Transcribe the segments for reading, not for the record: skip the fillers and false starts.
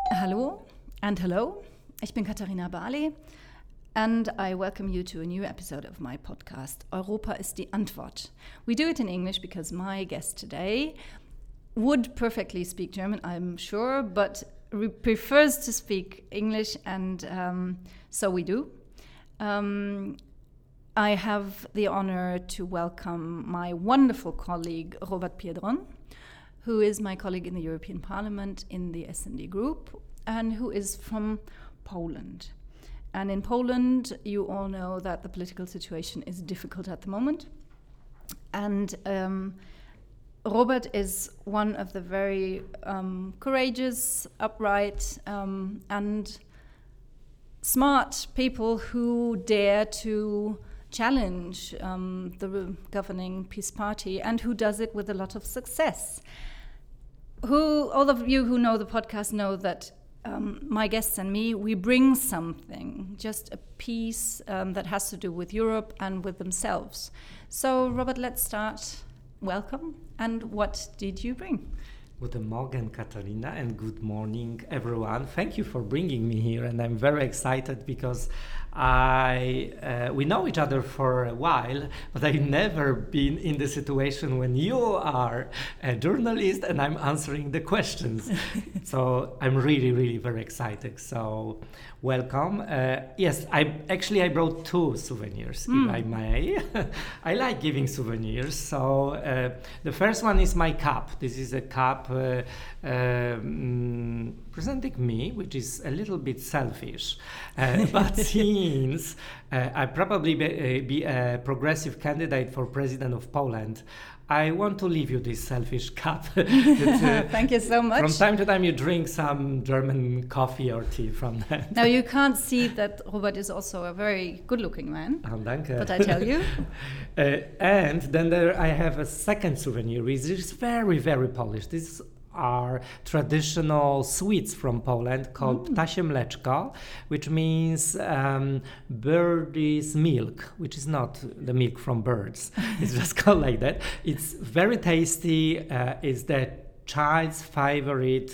Hallo and hello. Ich bin Katharina Barley and I welcome you to a new episode of my podcast, Europa ist die Antwort. We do it in English because my guest today would perfectly speak German, I'm sure, but prefers to speak English, and so we do. I have the honor to welcome my wonderful colleague, Robert Piedron, who is my colleague in the European Parliament in the S&D Group, and who is from Poland. And in Poland, you all know that the political situation is difficult at the moment. And Robert is one of the very courageous, upright, and smart people who dare to challenge the governing Peace Party, and who does it with a lot of success. All of you who know the podcast know that my guests and me, we bring something, just a piece that has to do with Europe and with themselves. So, Robert, let's start. Welcome. And what did you bring? Guten Morgen, Katharina, and good morning, everyone. Thank you for bringing me here, and I'm very excited because we know each other for a while, but I've never been in the situation when you are a journalist and I'm answering the questions. So I'm really, really very excited. So welcome. Yes, I brought two souvenirs, if I may. I like giving souvenirs. So the first one is my cup. This is a cup presenting me, which is a little bit selfish, but since I probably be a progressive candidate for president of Poland, I want to leave you this selfish cup. Thank you so much. From time to time you drink some German coffee or tea from that. Now you can't see that Robert is also a very good-looking man. Oh, danke. But I tell you. And then I have a second souvenir, which is very, very Polish. These are traditional sweets from Poland called ptasie mleczko, which means bird's milk, which is not the milk from birds. It's just called like that. It's very tasty. It's the child's favorite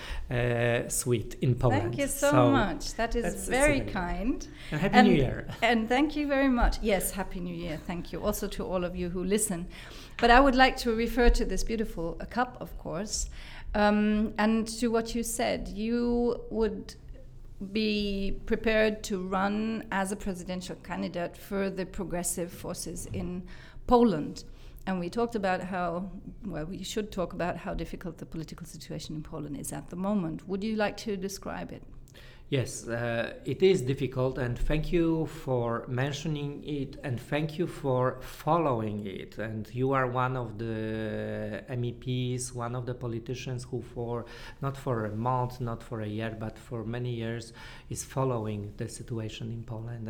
sweet in Poland. Thank you so much. That is very kind. And Happy New Year. And thank you very much. Yes, Happy New Year. Thank you. Also to all of you who listen. But I would like to refer to this beautiful cup, of course, and to what you said. You would be prepared to run as a presidential candidate for the progressive forces in Poland. And we talked about we should talk about how difficult the political situation in Poland is at the moment. Would you like to describe it? Yes, it is difficult, and thank you for mentioning it, and thank you for following it. And you are one of the MEPs, one of the politicians who not for a month, not for a year, but for many years is following the situation in Poland.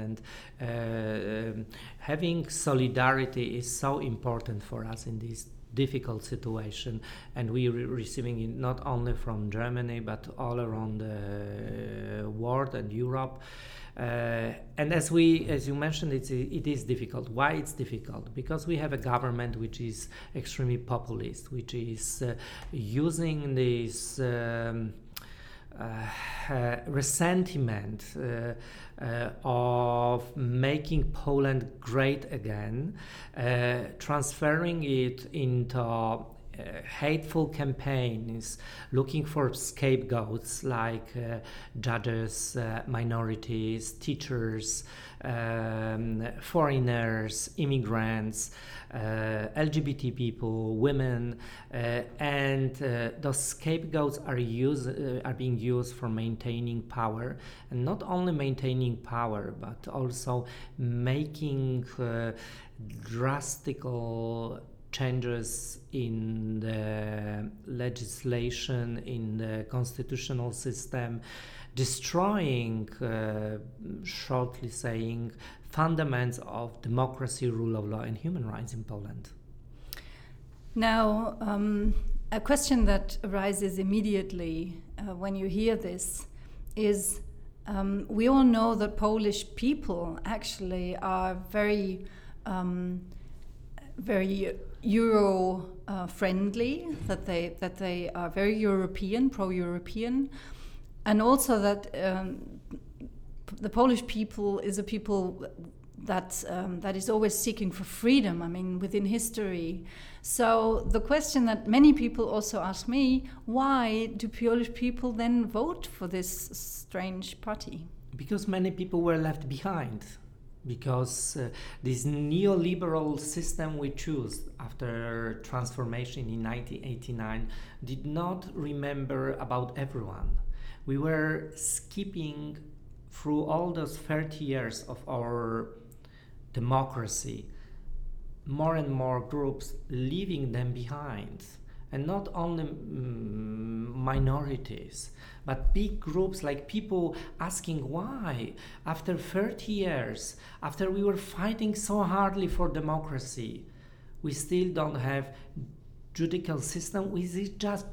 And having solidarity is so important for us in this difficult situation, and we are receiving it not only from Germany but all around the world and Europe. And as you mentioned, it is difficult. Why it's difficult? Because we have a government which is extremely populist, which is using this resentment of making Poland great again, transferring it into hateful campaigns, looking for scapegoats like judges, minorities, teachers, foreigners, immigrants, LGBT people, women, and those scapegoats are being used for maintaining power, and not only maintaining power, but also making drastical changes in the legislation, in the constitutional system, destroying, shortly saying, fundamentals of democracy, rule of law, and human rights in Poland. Now, a question that arises immediately when you hear this is, we all know that Polish people actually are very Euro friendly, that they are very European, pro-European, And also that the Polish people is a people that is always seeking for freedom, I mean, within history. So the question that many people also ask me, why do Polish people then vote for this strange party? Because many people were left behind. Because this neoliberal system we chose after transformation in 1989 did not remember about everyone. We were skipping through all those 30 years of our democracy, more and more groups leaving them behind. And not only minorities, but big groups, like people asking why, after 30 years, after we were fighting so hardly for democracy, we still don't have judicial system which is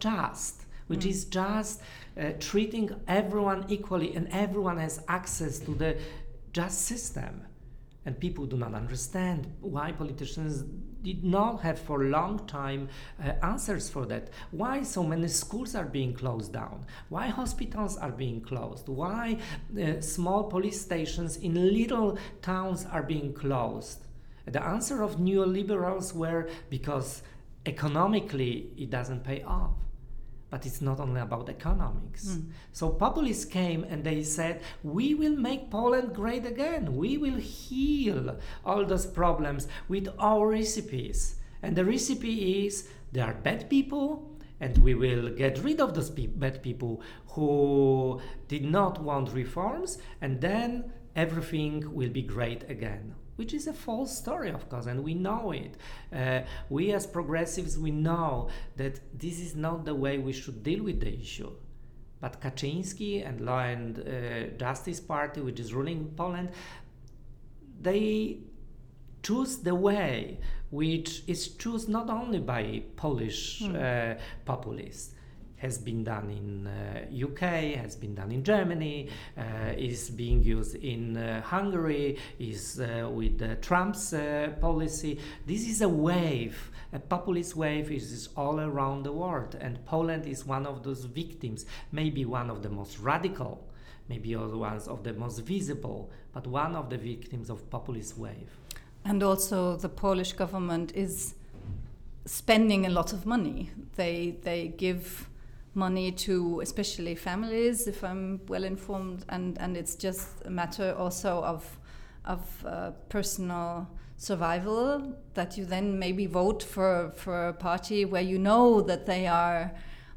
just treating everyone equally, and everyone has access to the just system. And people do not understand why politicians did not have for a long time answers for that. Why so many schools are being closed down? Why hospitals are being closed? Why small police stations in little towns are being closed? The answer of neoliberals were because economically it doesn't pay off. But it's not only about economics. So populists came and they said, we will make Poland great again. We will heal all those problems with our recipes. And the recipe is, there are bad people, and we will get rid of those bad people who did not want reforms, and then everything will be great again. Which is a false story, of course, and we know it. We as progressives, we know that this is not the way we should deal with the issue. But Kaczyński and Law and Justice Party, which is ruling Poland, they choose the way which is chosen not only by Polish populists, has been done in UK, has been done in Germany, is being used in Hungary, is with Trump's policy. This is a wave, a populist wave is all around the world, and Poland is one of those victims, maybe one of the most radical, maybe also one of the most visible, but one of the victims of populist wave. And also the Polish government is spending a lot of money. They give money to especially families, if I'm well informed, and it's just a matter also of personal survival, that you then maybe vote for a party where you know that they are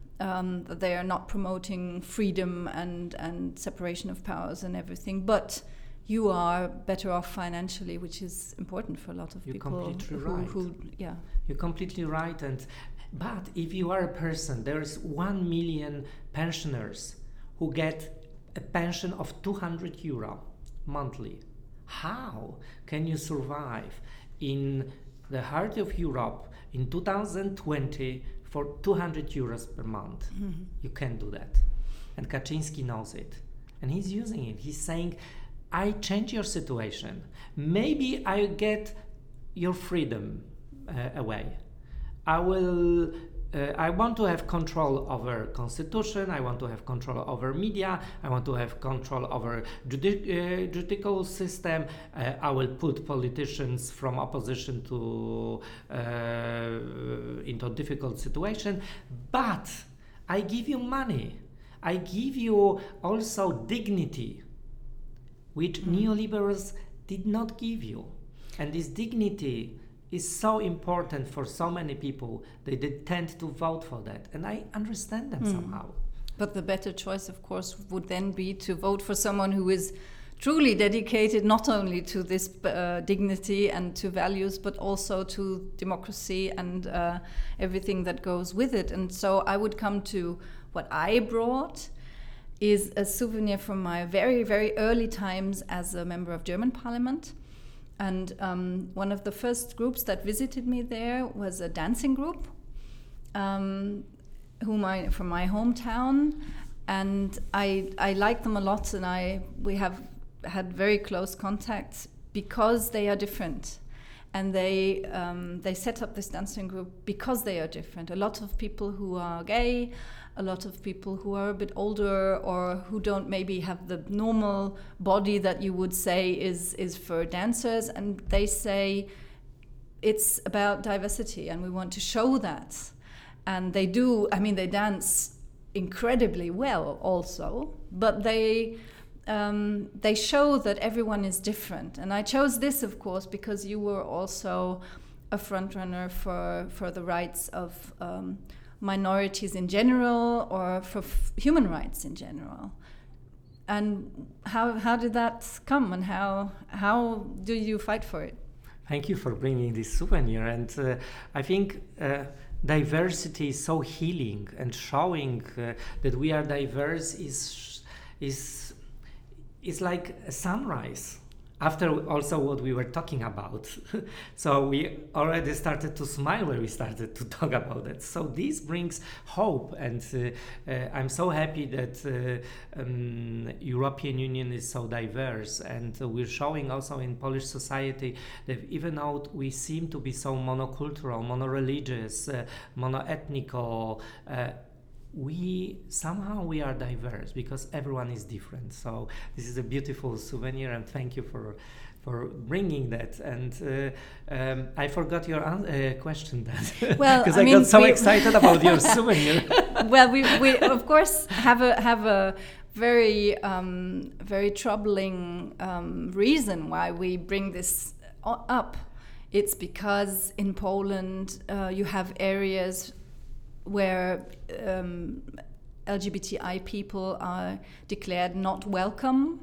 not promoting freedom and separation of powers and everything, but you are better off financially, which is important for a lot of people. You're completely right. You're completely right. But if you are a person, there's 1 million pensioners who get a pension of €200 monthly. How can you survive in the heart of Europe in 2020 for €200 per month? You can't do that. And Kaczyński knows it. And he's using it. He's saying, I change your situation. Maybe I get your freedom away. I want to have control over constitution, I want to have control over media, I want to have control over judicial system, I will put politicians from opposition into a difficult situation, but I give you money, I give you also dignity, which neoliberals did not give you. And this dignity is so important for so many people that they tend to vote for that, and I understand them somehow. But the better choice, of course, would then be to vote for someone who is truly dedicated not only to this dignity and to values, but also to democracy and everything that goes with it. And so I would come to what I brought is a souvenir from my very, very early times as a member of German Parliament. And one of the first groups that visited me there was a dancing group, from my hometown, and I like them a lot, and we have had very close contacts because they are different, And they set up this dancing group because they are different. A lot of people who are gay, a lot of people who are a bit older or who don't maybe have the normal body that you would say is for dancers, and they say it's about diversity and we want to show that. And they do, I mean, they dance incredibly well also, but they show that everyone is different. And I chose this, of course, because you were also a frontrunner for the rights of minorities in general, or for human rights in general. And how did that come, and how do you fight for it? Thank you for bringing this souvenir. And I think diversity is so healing, and showing that we are diverse is like a sunrise after also what we were talking about. So we already started to smile when we started to talk about it. So this brings hope, and I'm so happy that European Union is so diverse, and we're showing also in Polish society that even though we seem to be so monocultural, monoreligious, monoethnical, we are diverse because everyone is different. So this is a beautiful souvenir, and thank you for bringing that. And I forgot your question then. Well, because I got so excited about your souvenir. Well, we of course have a very very troubling reason why we bring this up. It's because in Poland you have areas where LGBTI people are declared not welcome,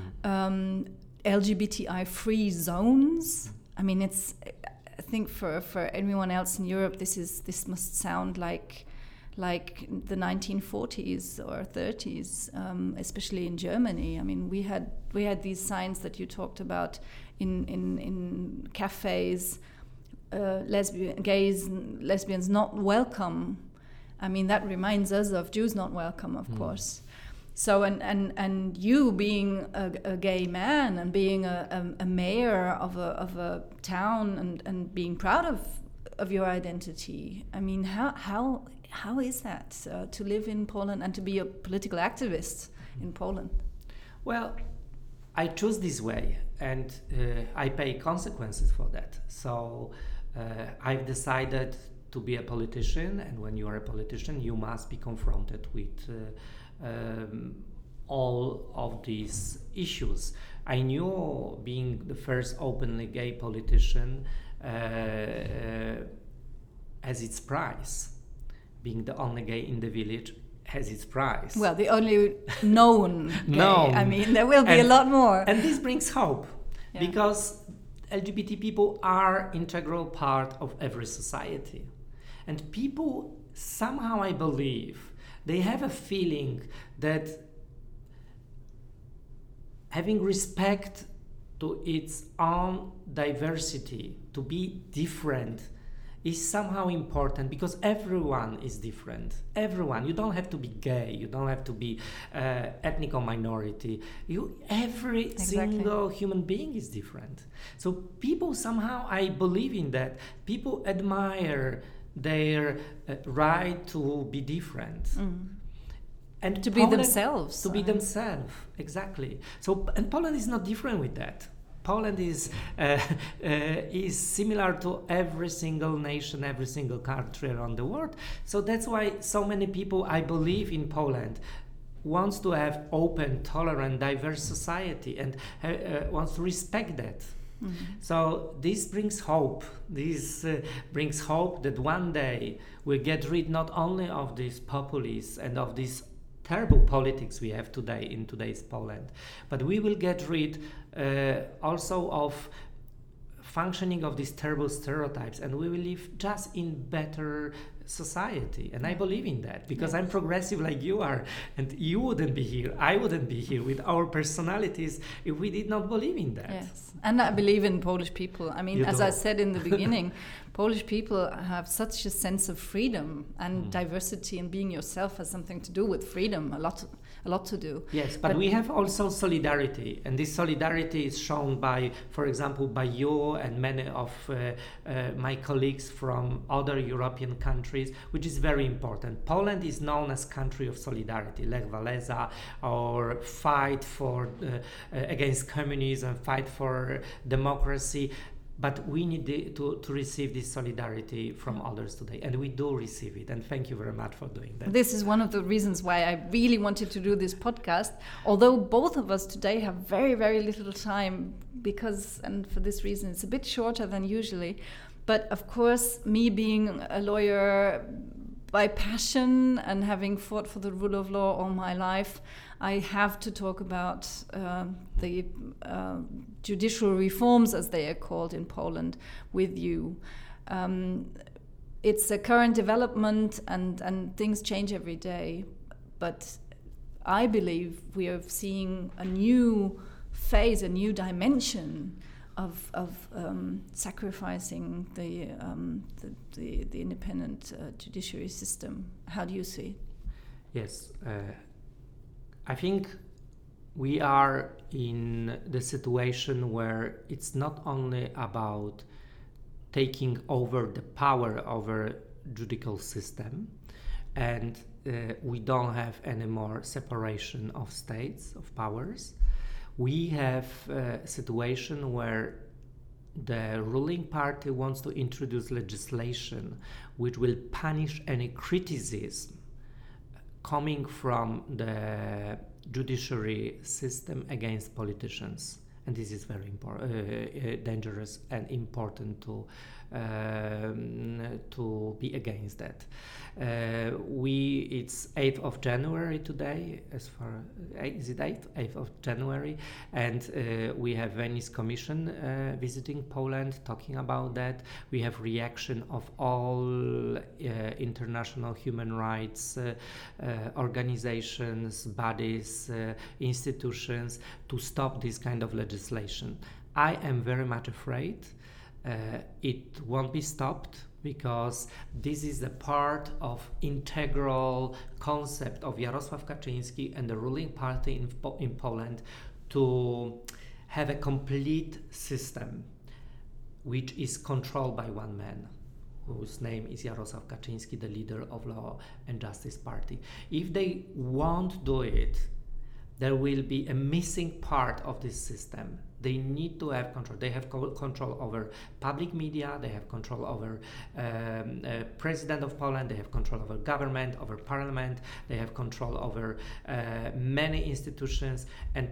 LGBTI-free zones. I mean, I think for anyone else in Europe, this must sound like the 1940s or 30s, especially in Germany. I mean, we had these signs that you talked about in cafes, gays, lesbians not welcome. I mean, that reminds us of Jews not welcome, of course. So, and you being a gay man and being a mayor of a town and being proud of your identity. I mean, how is that to live in Poland and to be a political activist in Poland? Well, I choose this way, and I pay consequences for that. So I've decided to be a politician, and when you are a politician, you must be confronted with all of these issues. I knew being the first openly gay politician has its price. Being the only gay in the village has its price. Well, the only known gay. I mean, there will be a lot more. And this brings hope, because LGBT people are integral part of every society. And people, somehow I believe, they have a feeling that having respect to its own diversity, to be different, is somehow important, because everyone is different. Everyone. You don't have to be gay. You don't have to be ethnic or minority. Every single human being is different. So people somehow, I believe in that. People admire their right to be different. And to be themselves. To be themselves, exactly. So, and Poland is not different with that. Poland is similar to every single nation, every single country around the world. So that's why so many people, I believe, in Poland wants to have open, tolerant, diverse society, and wants to respect that. So this brings hope. This brings hope that one day we'll get rid not only of these populists and of these terrible politics we have today in today's Poland, but we will get rid also of functioning of these terrible stereotypes, and we will live just in better society. And I believe in that, because I'm progressive like you are, and you wouldn't be here, I wouldn't be here with our personalities if we did not believe in that. Yes, and I believe in Polish people. I mean, as I said in the beginning, Polish people have such a sense of freedom and diversity, and being yourself has something to do with freedom, a lot to do. Yes, but we have also solidarity, and this solidarity is shown by, for example, by you and many of my colleagues from other European countries, which is very important. Poland is known as country of solidarity, Lech Walesa, or fight for against communism, fight for democracy. But we need to receive this solidarity from others today, and we do receive it, and thank you very much for doing that. This is one of the reasons why I really wanted to do this podcast, although both of us today have very, very little time, and for this reason it's a bit shorter than usually. But of course, me being a lawyer by passion and having fought for the rule of law all my life, I have to talk about the judicial reforms, as they are called in Poland, with you. It's a current development, and things change every day. But I believe we are seeing a new phase, a new dimension of sacrificing the independent judiciary system. How do you see it? Yes, I think we are in the situation where it's not only about taking over the power over judicial system, and we don't have any more separation of states, of powers. We have a situation where the ruling party wants to introduce legislation which will punish any criticism coming from the judiciary system against politicians. And this is very dangerous and important to be against that. It's 8th of January today, is it 8th of January? And we have Venice Commission visiting Poland, talking about that. We have reaction of all international human rights organizations, bodies, institutions to stop this kind of legislation. I am very much afraid it won't be stopped, because this is a part of integral concept of Jarosław Kaczyński and the ruling party in Poland to have a complete system which is controlled by one man, whose name is Jarosław Kaczyński, the leader of Law and Justice Party. If they won't do it, there will be a missing part of this system. They need to have control. They have control over public media, they have control over President of Poland, they have control over government, over parliament, they have control over many institutions, and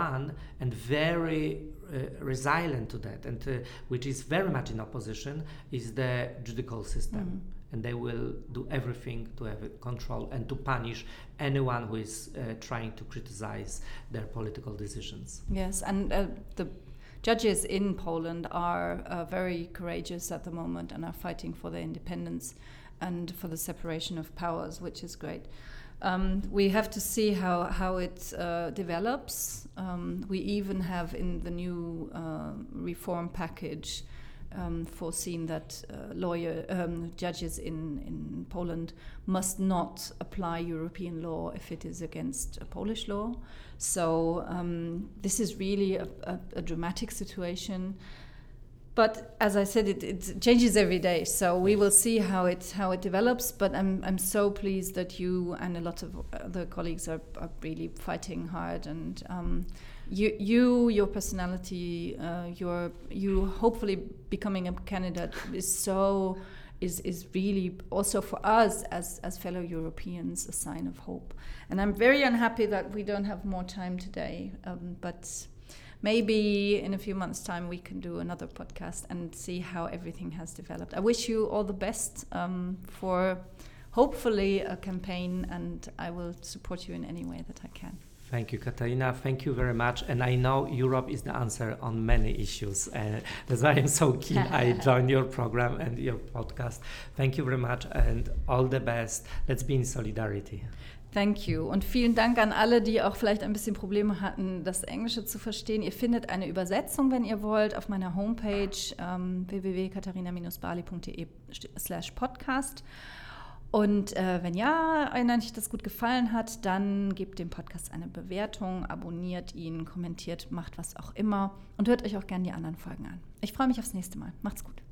very resilient to that, and which is very much in opposition, is the judicial system. Mm-hmm. And they will do everything to have control and to punish anyone who is trying to criticize their political decisions. Yes, and the judges in Poland are very courageous at the moment and are fighting for their independence and for the separation of powers, which is great. We have to see how it develops. We even have in the new reform package foreseen that judges in Poland must not apply European law if it is against Polish law. So this is really a dramatic situation. But as I said, it changes every day. So we will see how it develops. But I'm so pleased that you and a lot of other colleagues are really fighting hard, and your personality, you hopefully becoming a candidate is really also for us as fellow Europeans a sign of hope. And I'm very unhappy that we don't have more time today, but maybe in a few months' time we can do another podcast and see how everything has developed. I wish you all the best for hopefully a campaign, and I will support you in any way that I can. Thank you, Katharina. Thank you very much. And I know Europe is the answer on many issues. That's why I'm so keen I joined your program and your podcast. Thank you very much and all the best. Let's be in solidarity. Thank you. Und vielen Dank an alle, die auch vielleicht ein bisschen Probleme hatten, das Englische zu verstehen. Ihr findet eine Übersetzung, wenn ihr wollt, auf meiner Homepage www.katharina-bali.de/podcast. Und wenn euch das gut gefallen hat, dann gebt dem Podcast eine Bewertung, abonniert ihn, kommentiert, macht was auch immer und hört euch auch gerne die anderen Folgen an. Ich freue mich aufs nächste Mal. Macht's gut.